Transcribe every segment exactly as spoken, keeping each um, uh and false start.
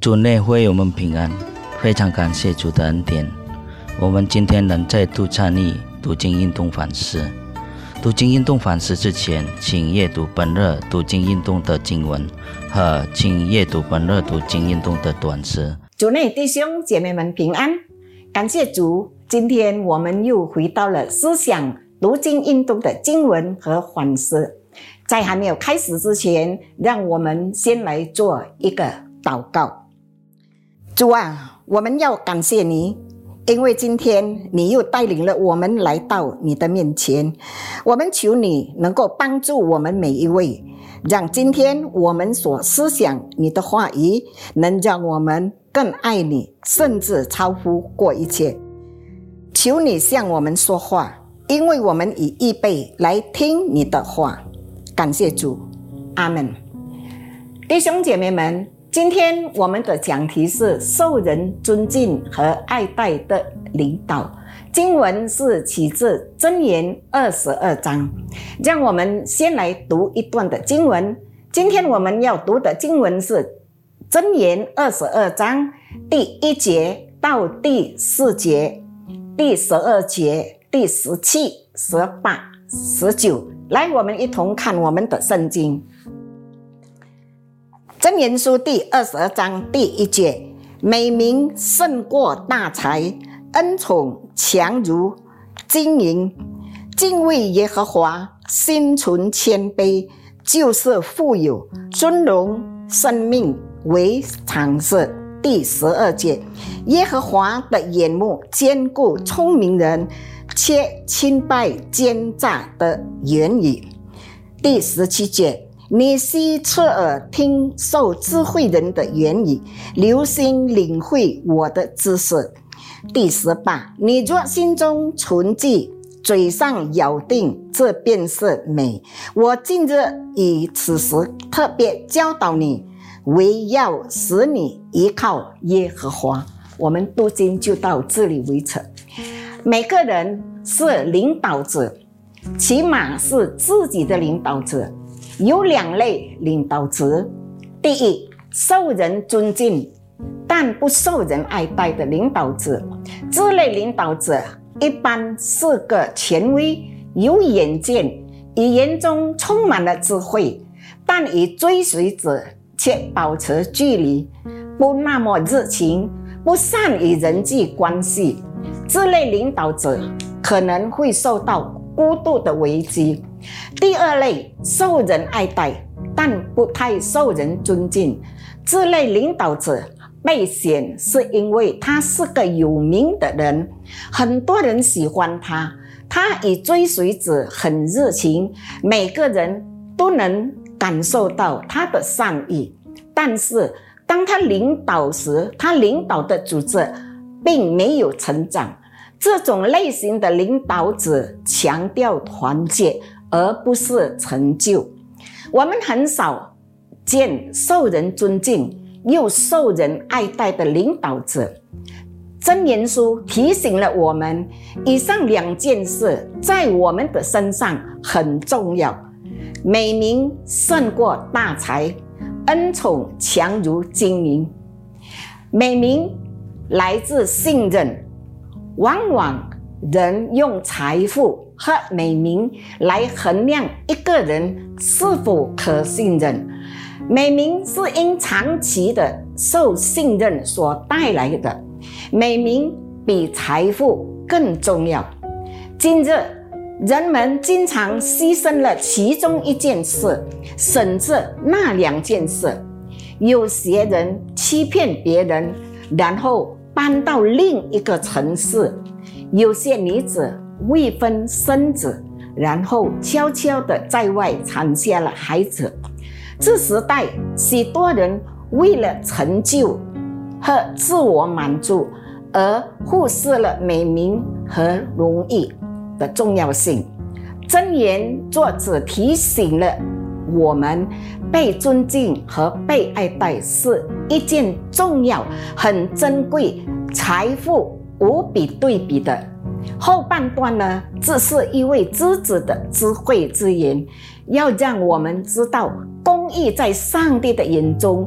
主内会我们平安，非常感谢主的恩典。我们今天能再度参与读经运动反思。读经运动反思之前，请阅读本日读经运动的经文和请阅读本日读经运动的短诗。 主内弟兄姐妹们平安，感谢主。今天我们又回到了思想读经运动的经文和反思。在还没有开始之前，让我们先来做一个祷告。主啊，我们要感谢你，因为今天你又带领了我们来到你的面前。我们求你能够帮助我们每一位，让今天我们所思想你的话语能让我们更爱你，甚至超乎过一切。求你向我们说话，因为我们已预备来听你的话。感谢主，阿们。弟兄姐妹们，今天我们的讲题是受人尊敬和爱戴的领导。经文是取自箴言二十二章。让我们先来读一段的经文。今天我们要读的经文是箴言二十二章第一节到第四节，第十二节、第十七、十八、十九。来，我们一同看我们的圣经。箴言书第二十二章第一节，美名胜过大财，恩宠强如金银。敬畏耶和华，心存谦卑，就是富有。尊荣生命为常事。第十二节，耶和华的眼目坚固聪明人，却轻败奸诈的言语。第十七节，你须侧耳听受智慧人的言语，留心领会我的知识。第十八，你若心中存记，嘴上咬定，这便是美。我今日以此时特别教导你，为要使你依靠耶和华。我们读经就到这里为止。每个人是领导者，起码是自己的领导者。有两类领导者，第一，受人尊敬但不受人爱戴的领导者。这类领导者一般是个权威，有远见，语言中充满了智慧，但与追随者却保持距离，不那么热情，不善于人际关系。这类领导者可能会受到孤独的危机。第二类，受人爱戴但不太受人尊敬。这类领导者被选是因为他是个有名的人，很多人喜欢他，他与追随者很热情，每个人都能感受到他的善意。但是当他领导时，他领导的组织并没有成长。这种类型的领导者强调团结，而不是成就。我们很少见受人尊敬又受人爱戴的领导者。箴言书提醒了我们，以上两件事在我们的身上很重要。美名胜过大财，恩宠强如金银。美名来自信任，往往人用财富和美名来衡量一个人是否可信任。美名是因长期的受信任所带来的，美名比财富更重要。今日人们经常牺牲了其中一件事，省着那两件事。有些人欺骗别人，然后搬到另一个城市。有些女子未婚生子，然后悄悄地在外产下了孩子。这时代许多人为了成就和自我满足而忽视了美名和荣誉的重要性。箴言作者提醒了我们，被尊敬和被爱戴是一件重要、很珍贵、财富无比对比的。后半段呢，这是一位知子的智慧之言，要让我们知道公义在上帝的眼中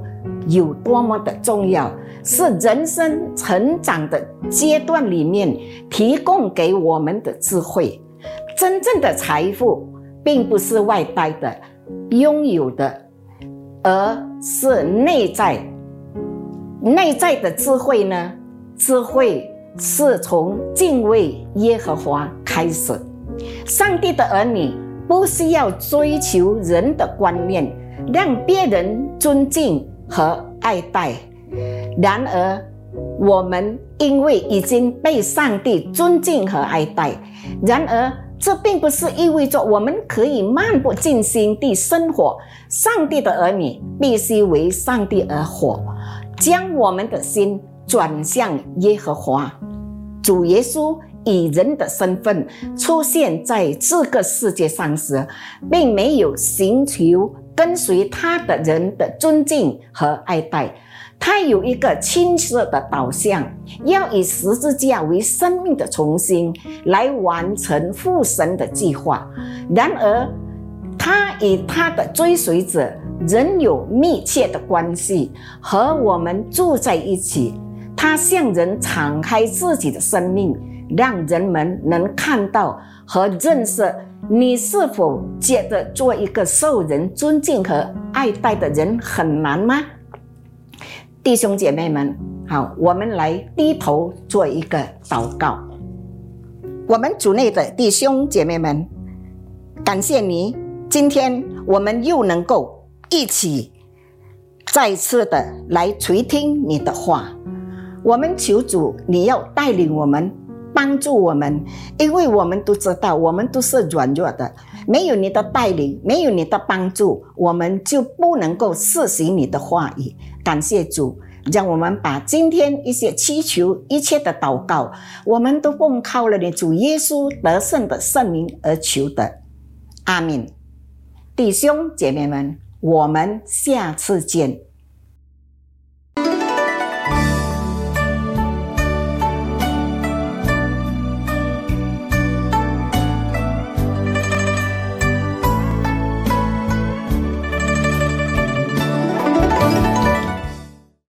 有多么的重要，是人生成长的阶段里面提供给我们的智慧。真正的财富并不是外在的拥有的，而是内在。内在的智慧呢？智慧是从敬畏耶和华开始。上帝的儿女不需要追求人的观念，让别人尊敬和爱戴。然而，我们因为已经被上帝尊敬和爱戴，然而这并不是意味着我们可以漫不经心地生活。上帝的儿女必须为上帝而活，将我们的心转向耶和华。主耶稣以人的身份出现在这个世界上时，并没有寻求跟随他的人的尊敬和爱戴，他有一个清晰的导向，要以十字架为生命的重新，来完成父神的计划。然而，他与他的追随者仍有密切的关系，和我们住在一起。他向人敞开自己的生命，让人们能看到和认识。你是否觉得做一个受人尊敬和爱戴的人很难吗？弟兄姐妹们，好，我们来低头做一个祷告。我们主内的弟兄姐妹们，感谢你，今天我们又能够一起再次的来垂听你的话。我们求主，你要带领我们，帮助我们，因为我们都知道我们都是软弱的，没有你的带领，没有你的帮助，我们就不能够实行你的话语。感谢主，让我们把今天一些祈求一切的祷告，我们都奉靠了你主耶稣得胜的圣名而求的。阿们。弟兄姐妹们，我们下次见。